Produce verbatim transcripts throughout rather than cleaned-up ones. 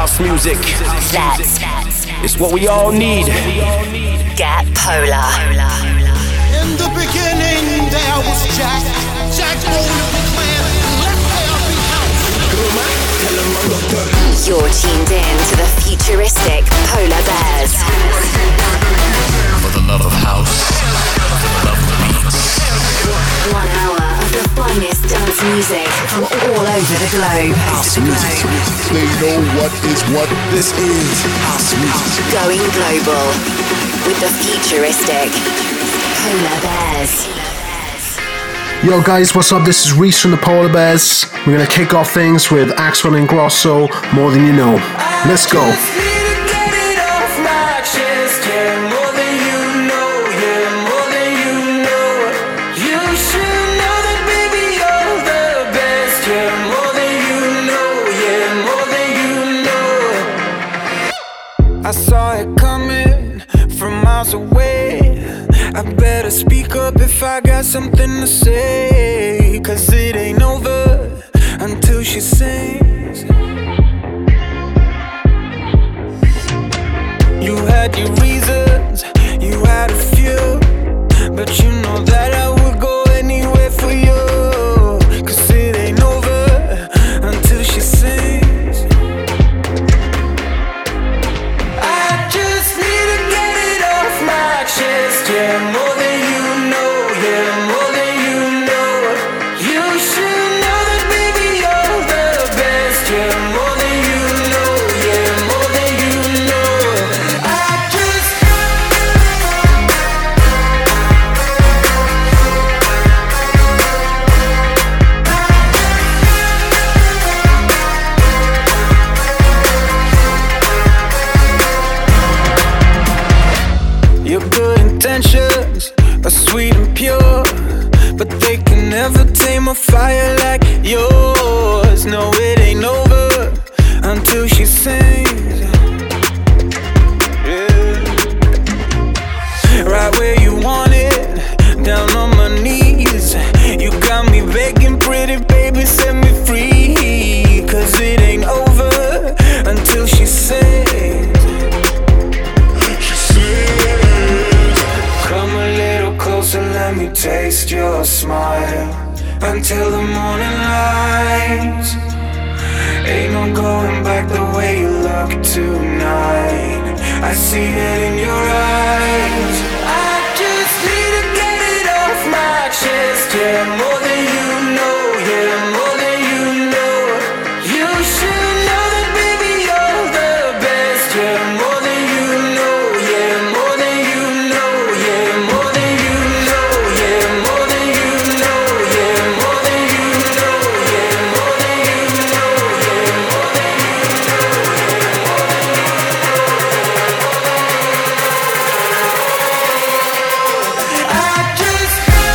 house music. That's It's what we all need. Get Polar. In the beginning there was Jack. Jack Polar declared, let there be house. You're tuned in to the futuristic Polar Bears. For the love of house, for the love of beats. One hour of the finest dance music from all over the globe. House music. They know what is what. This is house music. Going global with the futuristic Polar Bears. Yo guys, what's up? This is Reese from the Polar Bears. We're gonna kick off things with Axwell and Grosso, More Than You Know. Let's go. I saw it coming from miles away. I better speak up if I got something to say, 'cause it ain't over until she sings. You had your reasons, you had a few, but you know that I would go anywhere for you, 'cause it ain't over until she sings. Yeah, more than you know, yeah, more than you know. You should know that, baby, you're the best. Yeah, more than you know, yeah, more than you know. I just your good intentions are sweet and pure, but they can never tame a fire like yours. No, it ain't over until she sings. Yeah. Right where you want it, down on my knees. You got me begging, pretty baby, set me free, 'cause it ain't over until she sings. Come a little closer, let me taste your smile until the morning light. Ain't no going back the way you look tonight. I see it in your eyes. I just need to get it off my chest. Yeah, more than you know, yeah, more than you know. You should know that, baby, you're the best. Yeah, more than you know, yeah, more than you know, yeah, more than you know, yeah, more than you know, yeah, more than you know, yeah, more than you know, yeah, more than you know, yeah. I just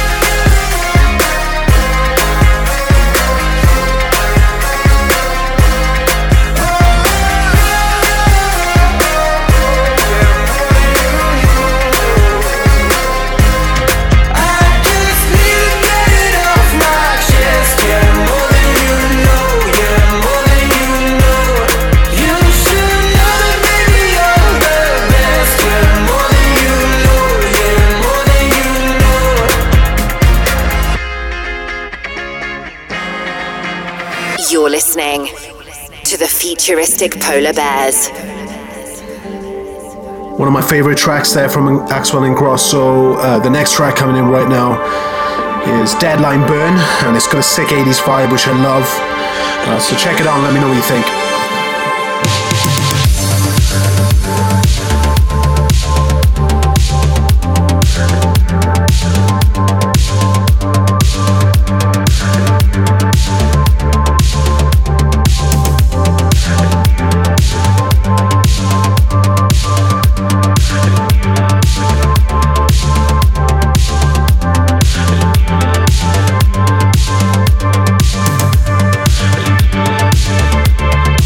You're listening to the futuristic Polar Bears. One of my favorite tracks there from Axwell and Grosso. Uh, the next track coming in right now is Deadline Burn, and it's got a sick eighties vibe, which I love. Uh, so check it out and let me know what you think. I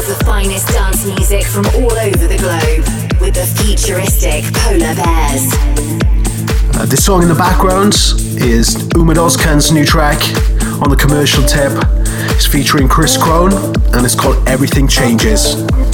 the finest dance music from all over the globe with the futuristic Polar Bears. Uh, this song in the background is Umut Ozkan's new track on the commercial tip. It's featuring Chris Krohn and it's called Everything Changes.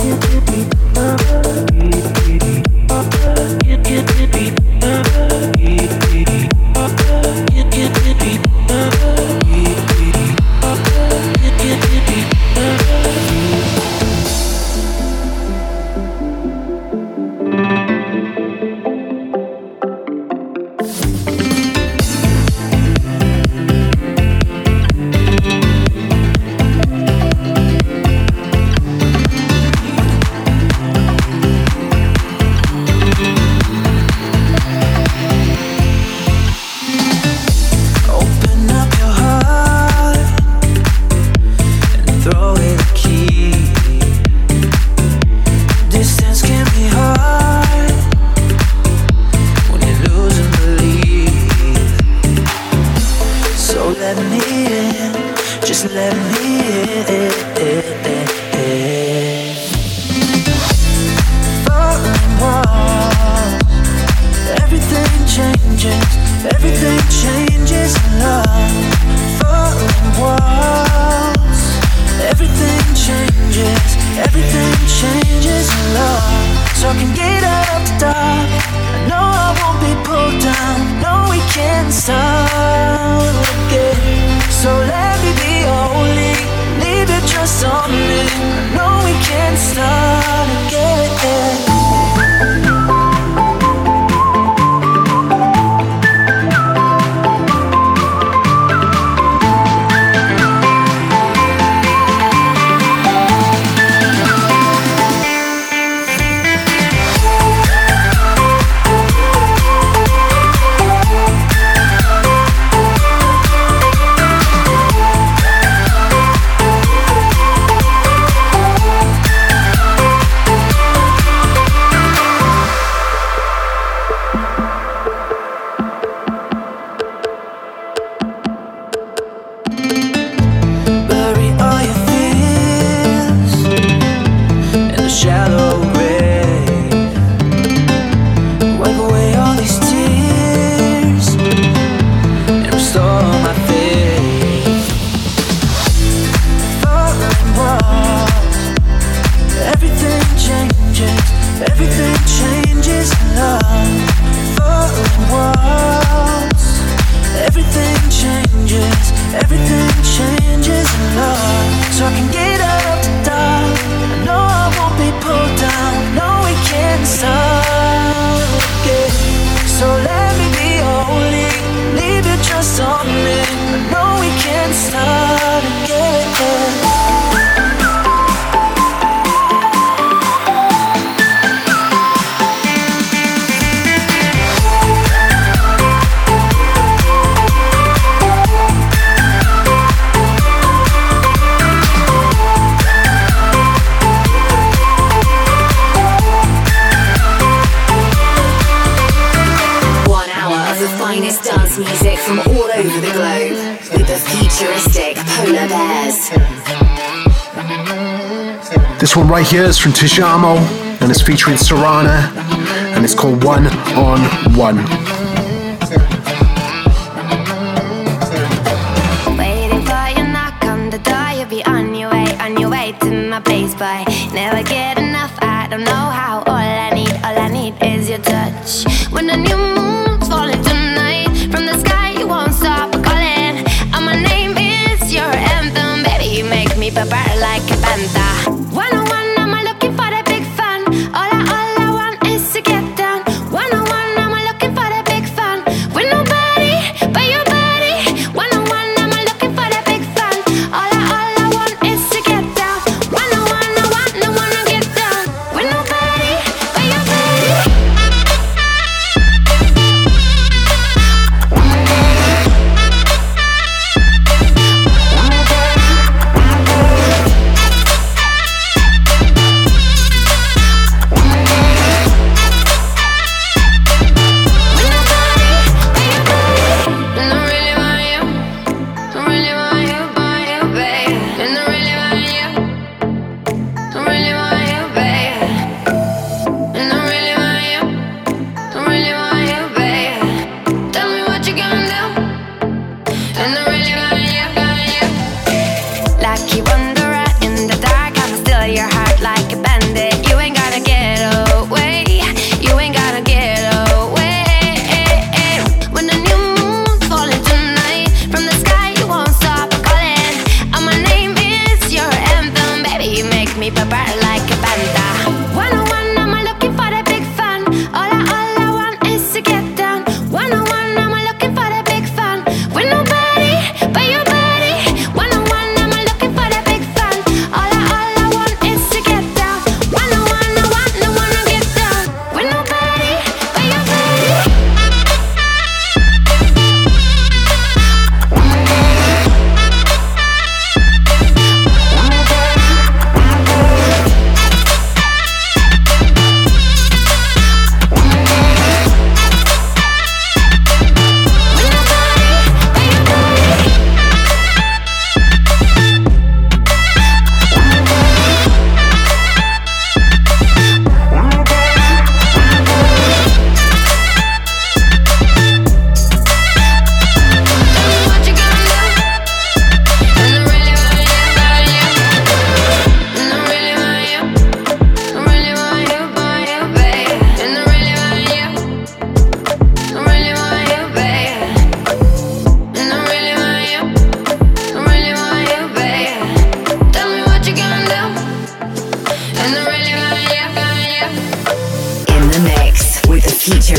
This one right here is from Tijamo and it's featuring Serana and it's called One on One. Waiting for your knock on the door, you'll be on your way, on your way to my place, but never get enough. I don't know how. All I need, all I need is your touch. When the new moon's falling tonight from the sky, you won't stop calling. And my name is your anthem, baby. You make me prepare like a panther. One on one, I'm looking for the big fun. All I, all I want is to get down. One on one, I'm looking for the big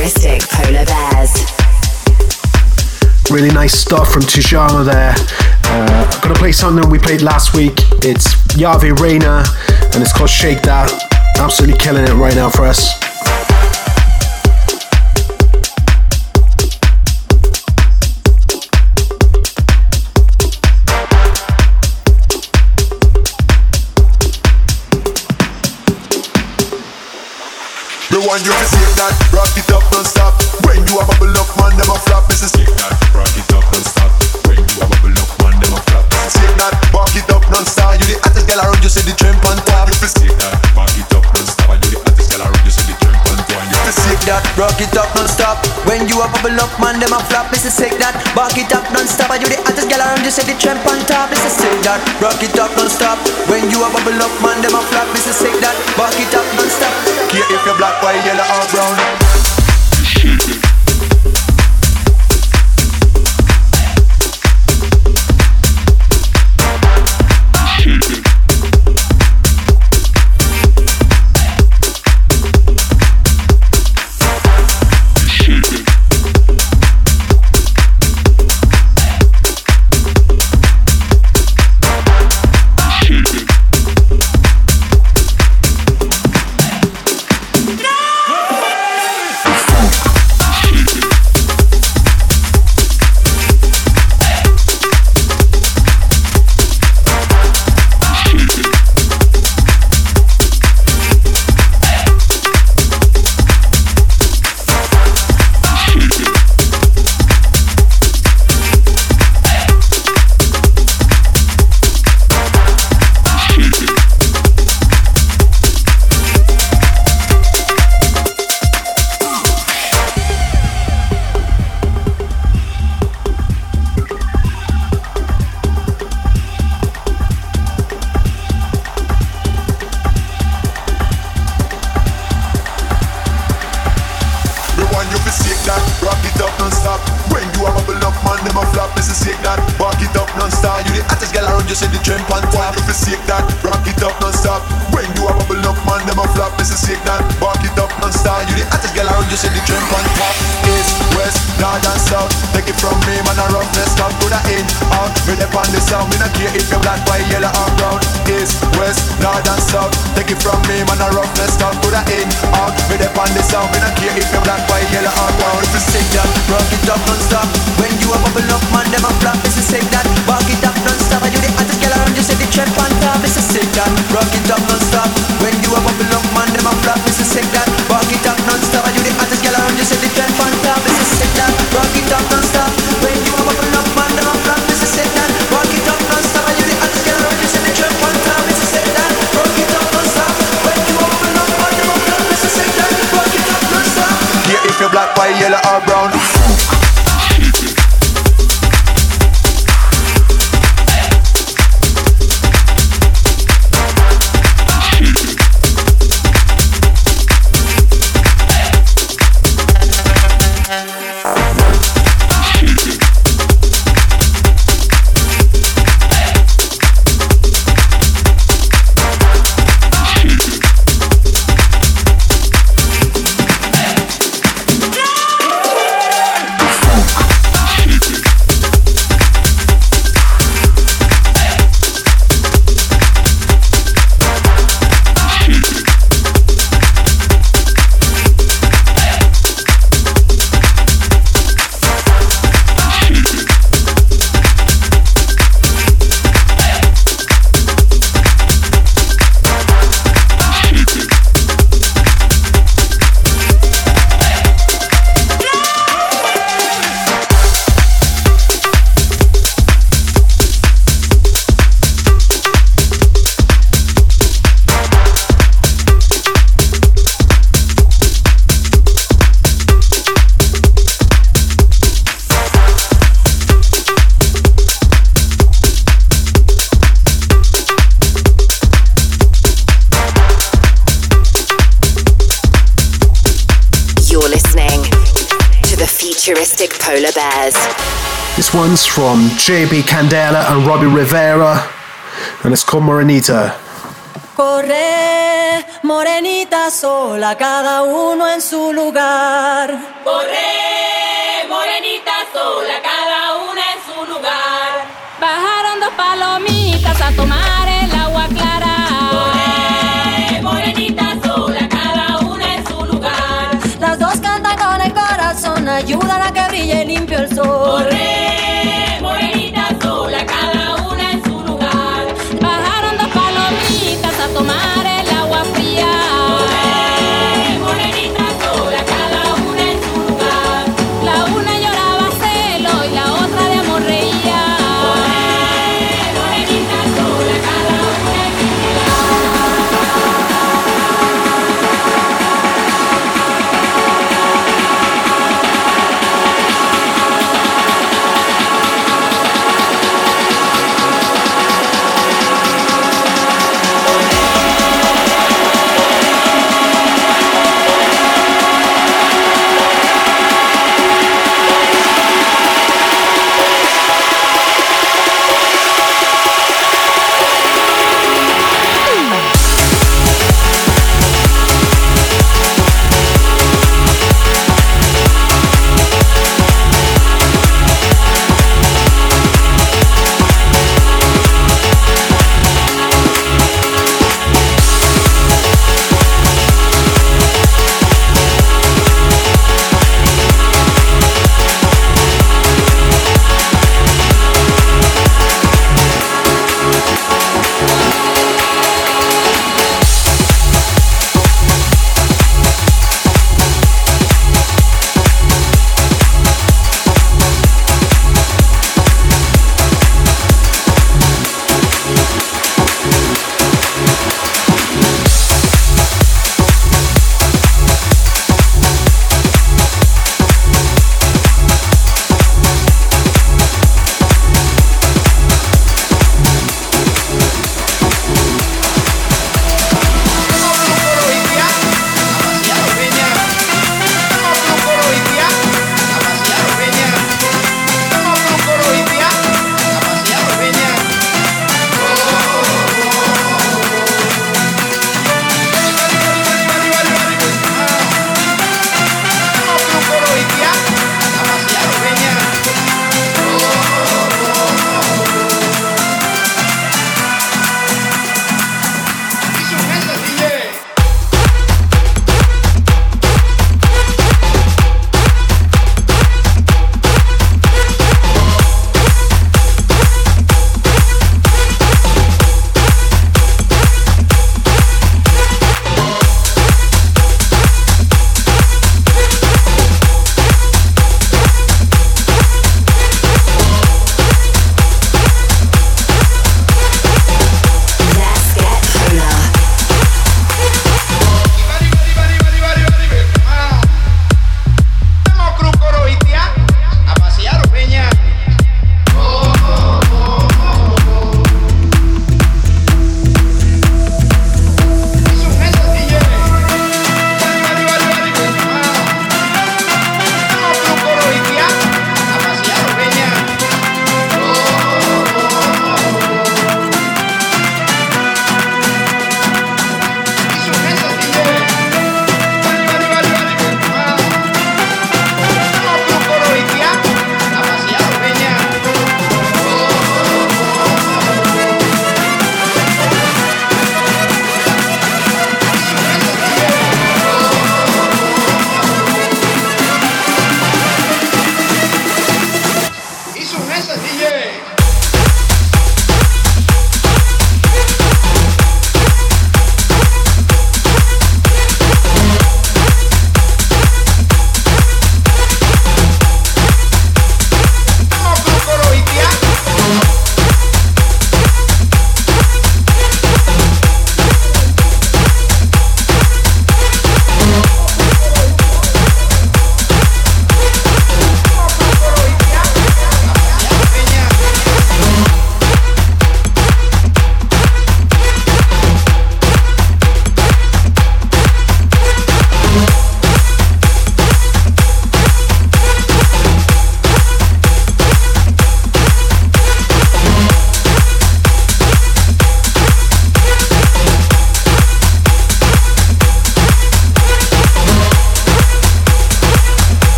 futuristic polar bears. Really nice stuff from Tijana there. Uh, I'm gonna play something we played last week. It's Yahweh Reina and it's called Shake That. Absolutely killing it right now for us. The one you can shake that, rock it up non-stop. When you a bubble up, man, them a flop. This is shake that, rock it up non-stop. When you a bubble up, man, them a flop. Shake that, rock it up non-stop. You the hottest girl around, you see the tramp on top. You can shake that, rock it up non-stop. You the hottest girl around, you see the tramp on top. You can shake that, rock it up non-stop. When you a bubble up, man, them a flop. This is shake that, rock it up non-stop. You the hottest girl around, you see the tramp on top. This is shake that, rock it up non-stop. When you a bubble up, man, them a flop. This is shake that, rock it up non-stop. Care if you're black, white, yellow or brown. Polar Bears. This one's from J B Candela and Robbie Rivera, and it's called Morenita. Corre, morenita sola, cada uno en su lugar. Corre, morenita sola, cada una en su lugar. Bajaron dos palomitas a tomar el agua clara. Corre, morenita sola, cada una en su lugar. Las dos cantan con el corazón, ayudan a que brille limpio el sol. Corre, morenita sola, cada una en su lugar. Bajaron dos palomitas a tomar el agua fría. Corre, morenita sola, cada una en su lugar. La una lloraba celo y la otra de amor reía. Corre, morenita sola, cada una en su lugar.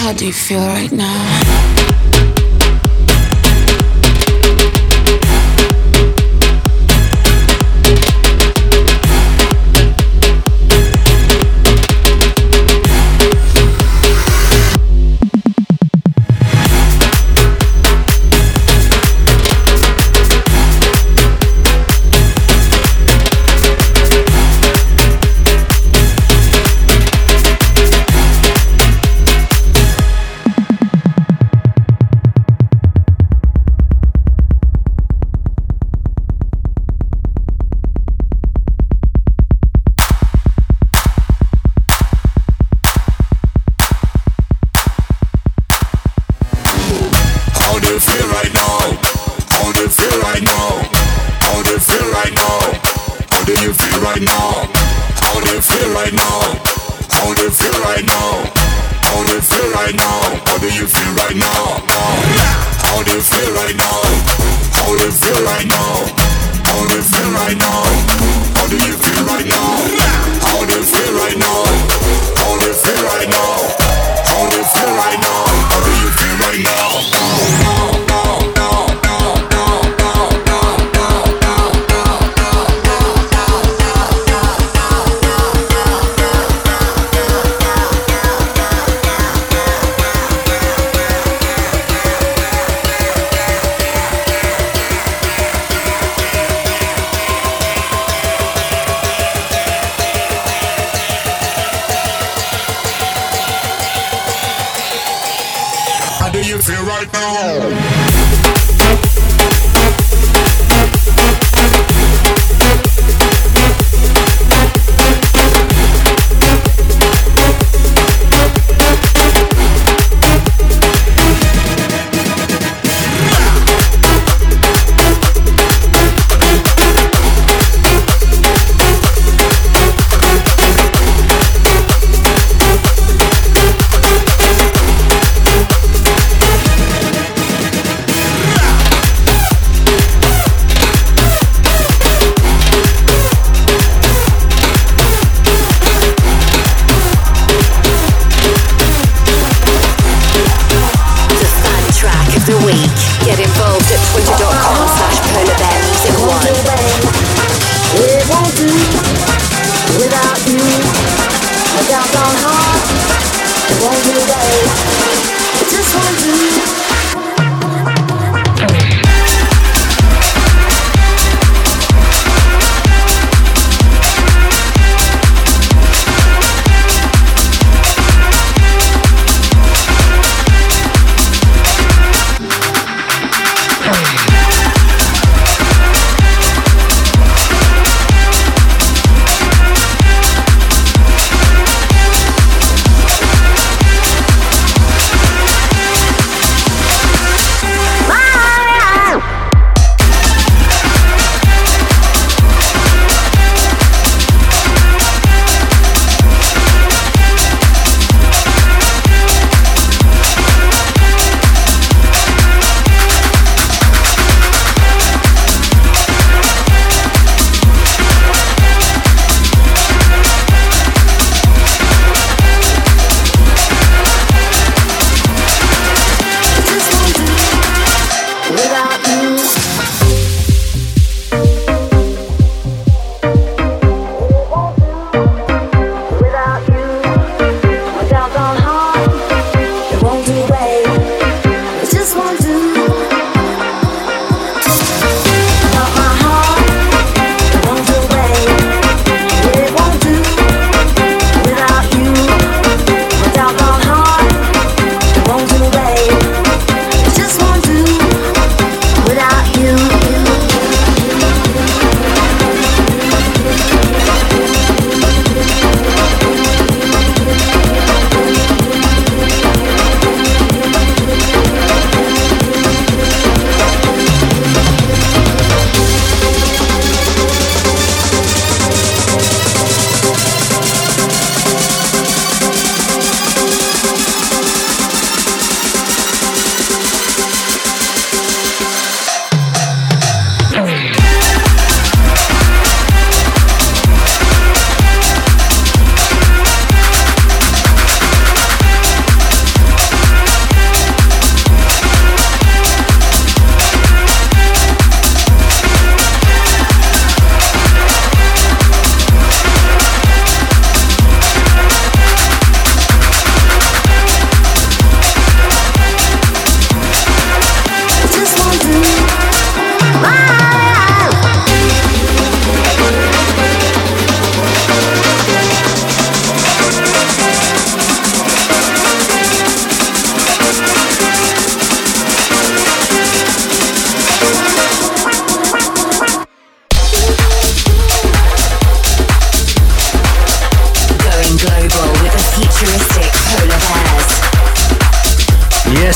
How do you feel right now?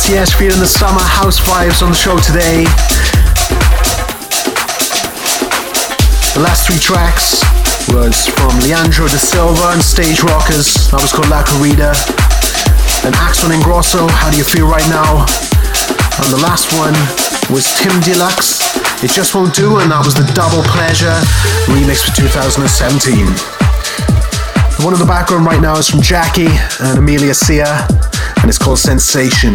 yes, feeling the summer house vibes on the show today. The last three tracks was from Leandro da Silva and Stage Rockers. That was called La Corrida. And Axel Ingrosso, How Do You Feel Right Now? And the last one was Tim Deluxe, It Just Won't Do, and that was the Double Pleasure remix for two thousand seventeen. The one in the background right now is from Jackie and Amelia Sia, and it's called Sensation.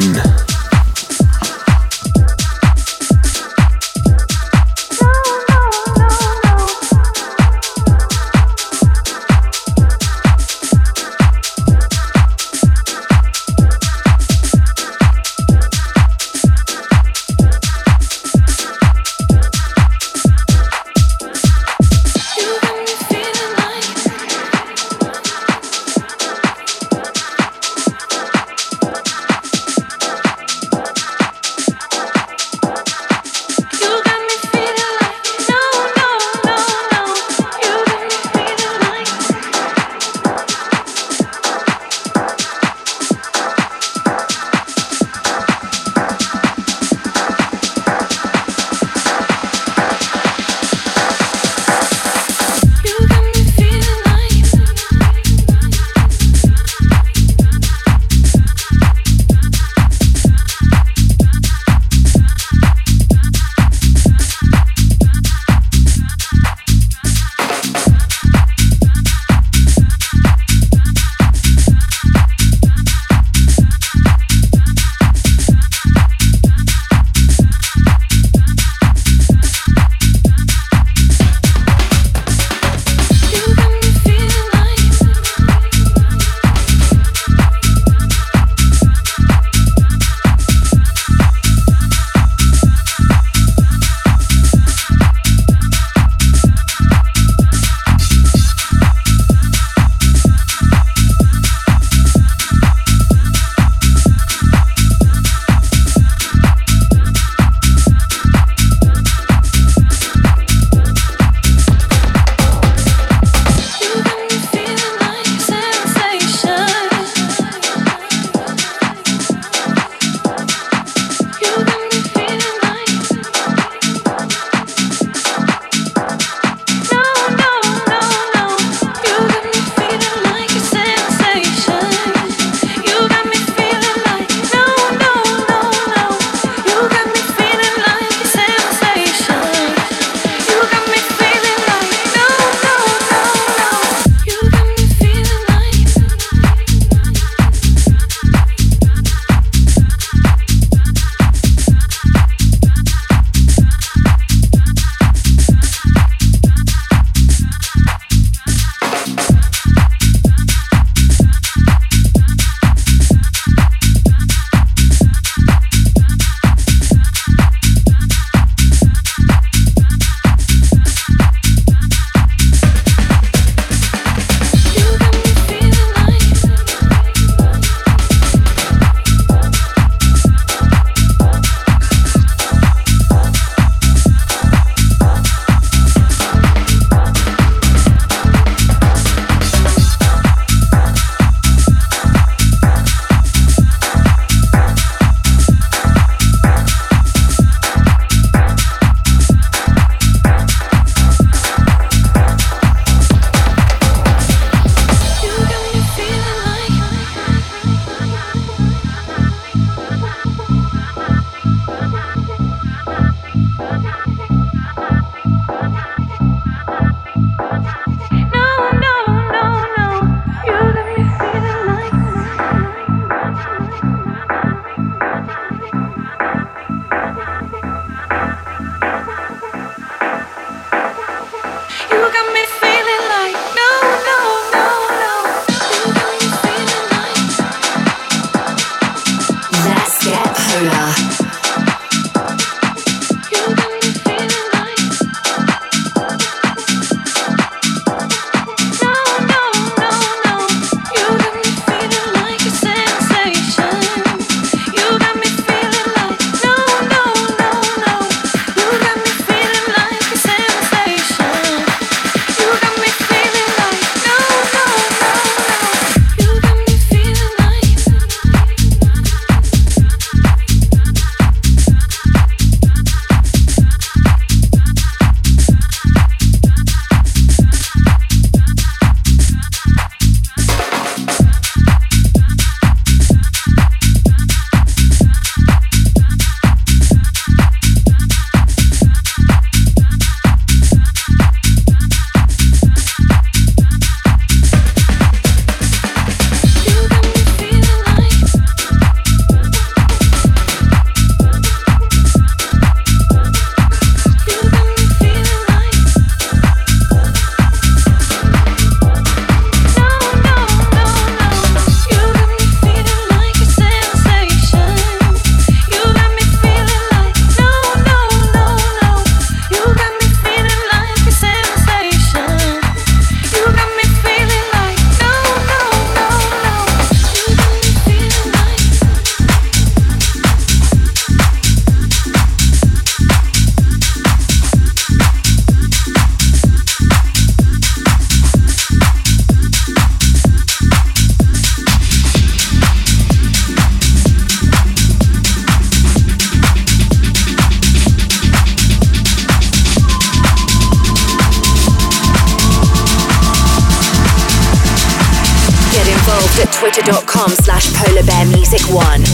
twitter.com slash polarbearmusic1.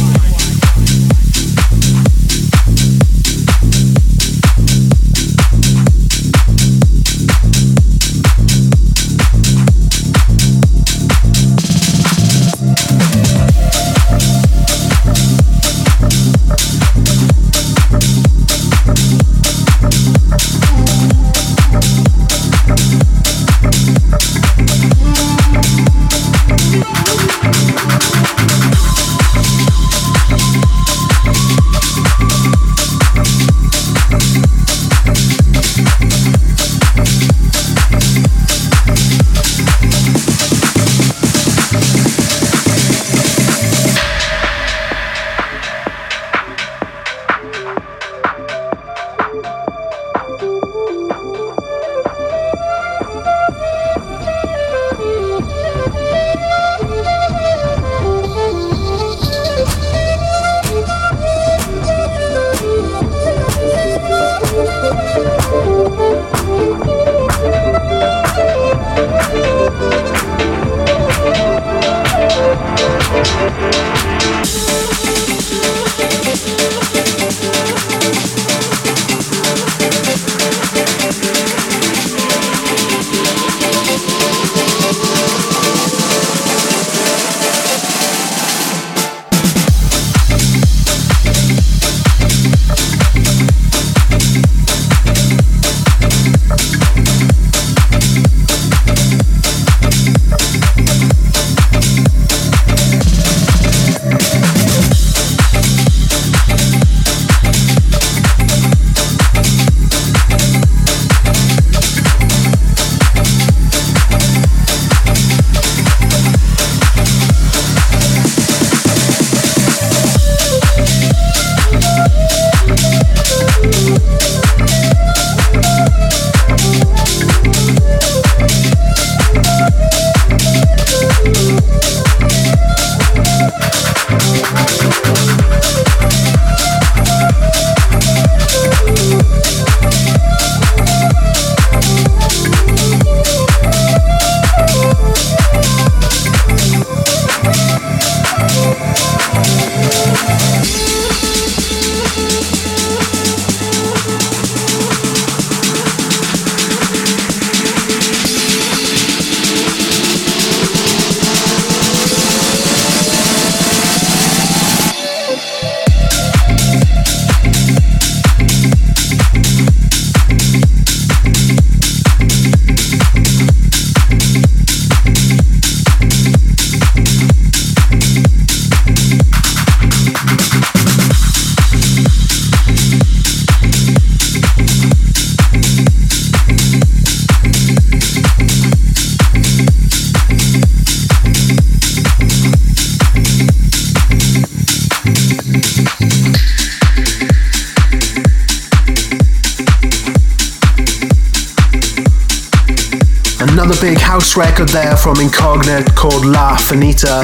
Another big house record there from Incognite called La Finita.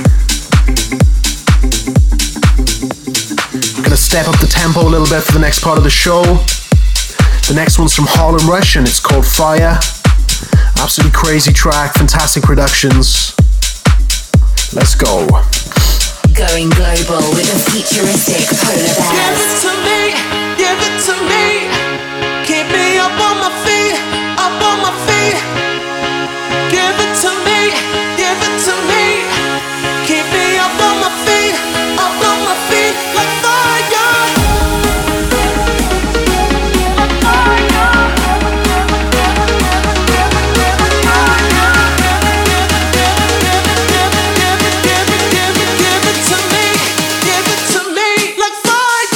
Gonna step up the tempo a little bit for the next part of the show. The next one's from Harlem Rush and it's called Fire. Absolutely crazy track, fantastic productions. Let's go. Going global with a futuristic Polar Bear. Give it to me, give it to me. Keep me up on my feet, up on my feet. Give it to me, give it to me. Keep me up on my feet, up on my feet like fire. Like fire. Give it, give it, give it, give it to me, give it to me like fire.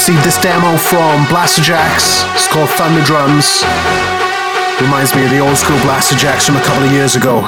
received this demo from Blasterjaxx. It's called Thunder Drums. Reminds me of the old school Blasterjaxx from a couple of years ago.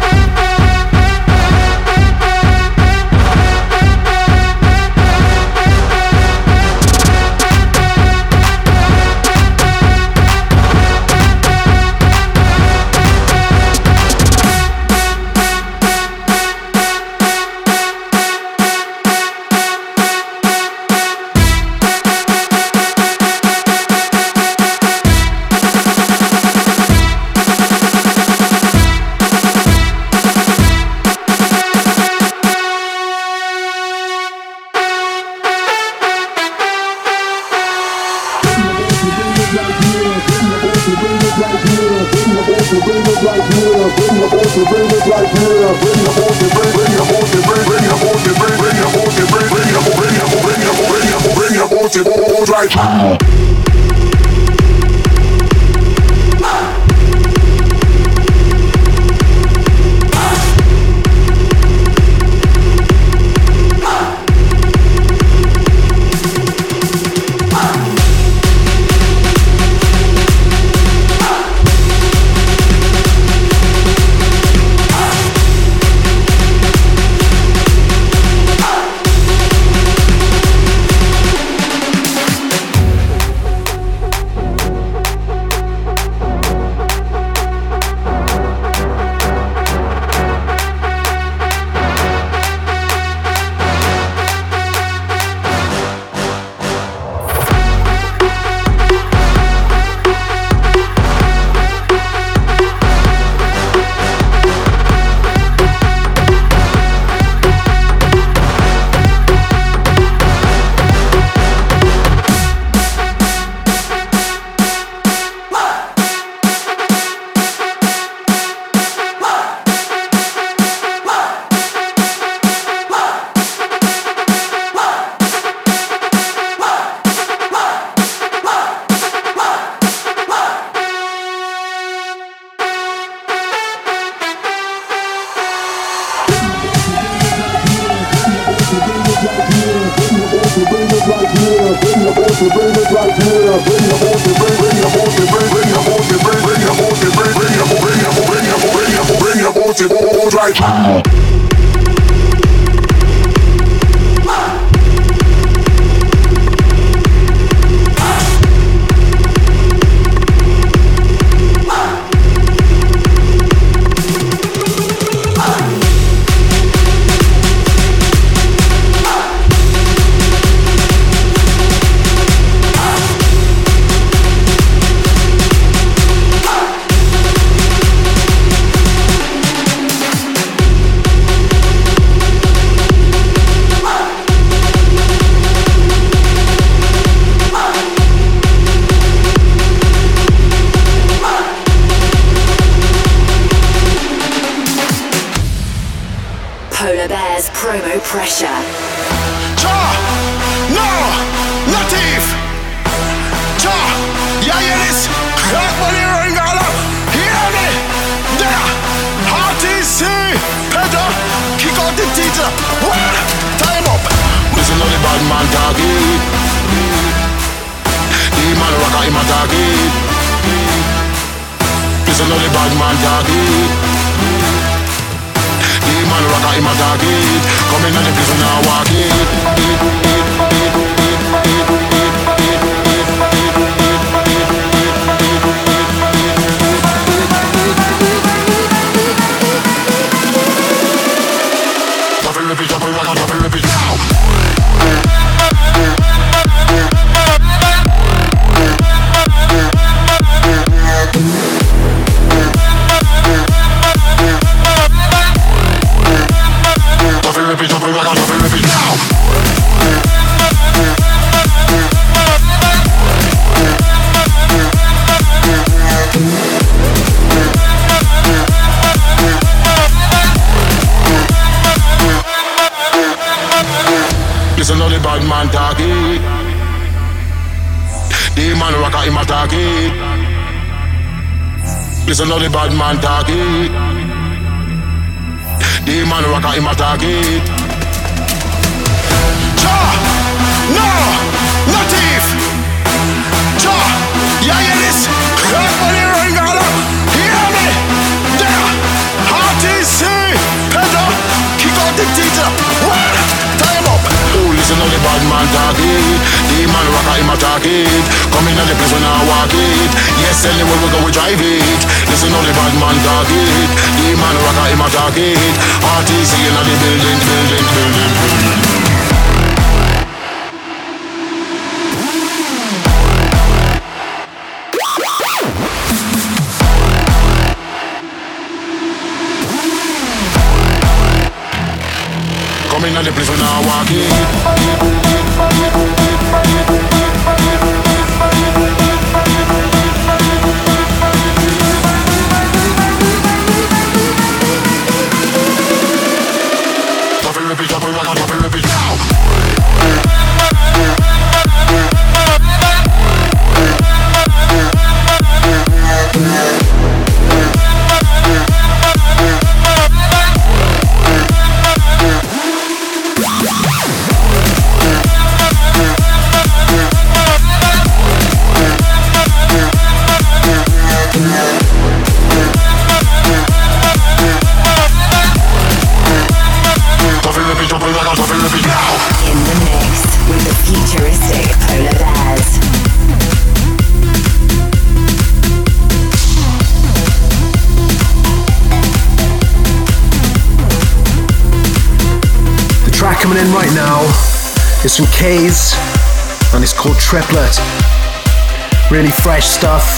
Listen to the bad man talking. The man rocker him a talking. Cha, no, nothing. Yeah, yeah, this. Everybody ring on up. Hear me? Yeah. R T C. Pedro. Kick out the teacher. What? Time up. Oh, listen to the bad man talk it. The man rocker him attack it. Come in at the place when I walk it. Yes, anywhere we go we drive it. Listen to the bad man talk it. The man rocker him attack it. R T C in the building, building, building, building. Come in at the place when I walk in. Drop it, repeat, drop it, drop it, repeat now. In the mix with the futuristic Polar Bears. The track coming in right now is from K's and it's called Triplet. Really fresh stuff.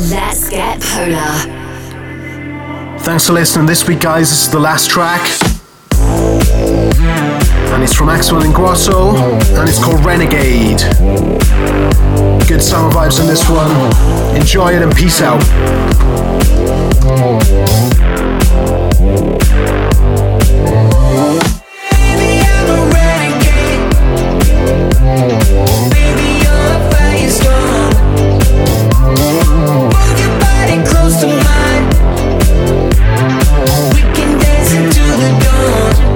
Let's get polar. Thanks for listening this week, guys. This is the last track. And it's from Axwell and Grosso, and it's called Renegade. Good summer vibes in this one. Enjoy it and peace out. Baby, I'm a renegade. Baby, you're a firestorm. Move your body close to mine. We can dance into the dawn.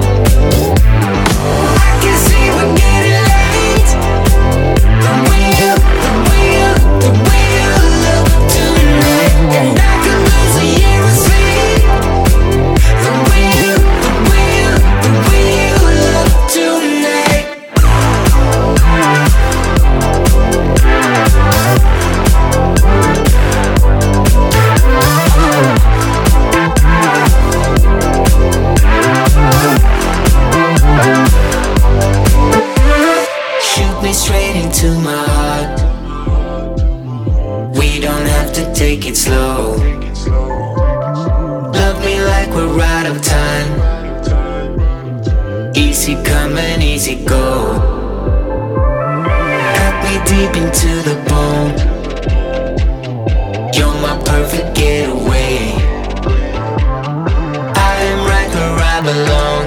I can see we're getting late. The way you, the way you, the way you look tonight, and I could lose a year of sleep. The way you, the way you, the way you look tonight. Shoot me straight into my heart. We don't have to take it slow. Love me like we're out of time. Easy come and easy go. Cut me deep into the bone. You're my perfect getaway. I am right where I belong.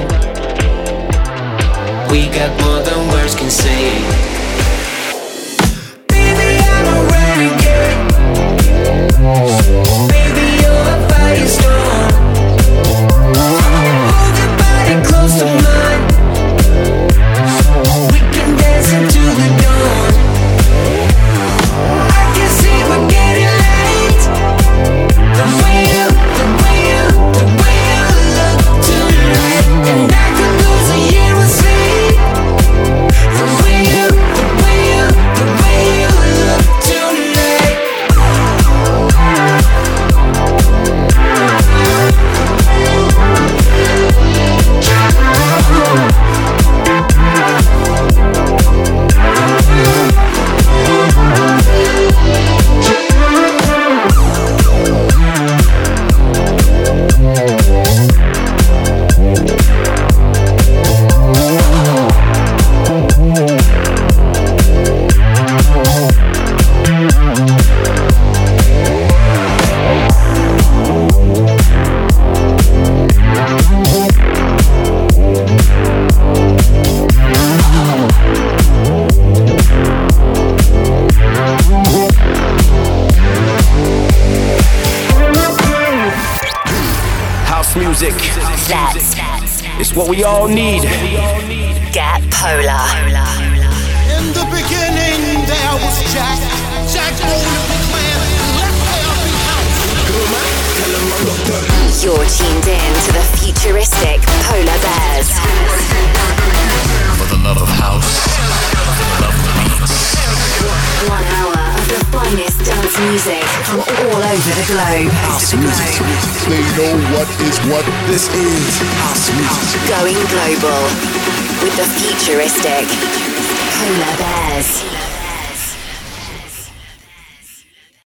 We got more than words can say. Baby, I'm a renegade. Baby, you're a firestorm. Hold your body close to mine. We can dance into the dawn. I can see we're getting late. The way you, the way you, the way you look tonight, and I could lose a year of sleep. The way you, the way you, the way you look tonight. House music. Let's It's what we all need. get polar. In the beginning there was Jack. Jack owned the clan. Let there be house. You're tuned in to the futuristic Polar Bears. For the love of house, for the love of beats. One hour of the finest dance music from all over the globe. House music. They know what is what. This is house music. Going global with the futuristic Polar Bears.